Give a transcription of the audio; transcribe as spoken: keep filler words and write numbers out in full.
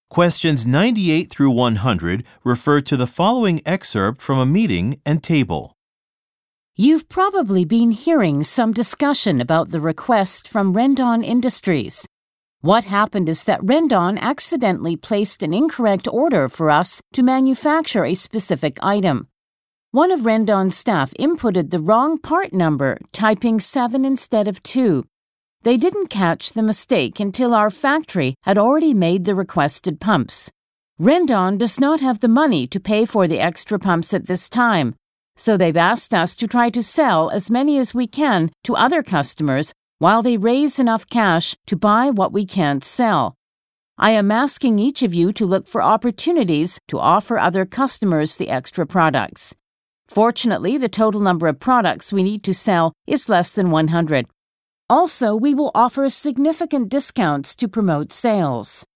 Questions ninety-eight through one hundred refer to the following excerpt from a meeting and table. You've probably been hearing some discussion about the request from Rendon Industries. What happened is that Rendon accidentally placed an incorrect order for us to manufacture a specific item. One of Rendon's staff inputted the wrong part number, typing seven instead of two. They didn't catch the mistake until our factory had already made the requested pumps. Rendon does not have the money to pay for the extra pumps at this time, so they've asked us to try to sell as many as we can to other customers while they raise enough cash to buy what we can't sell. I am asking each of you to look for opportunities to offer other customers the extra products. Fortunately, the total number of products we need to sell is less than one hundred. Also, we will offer significant discounts to promote sales.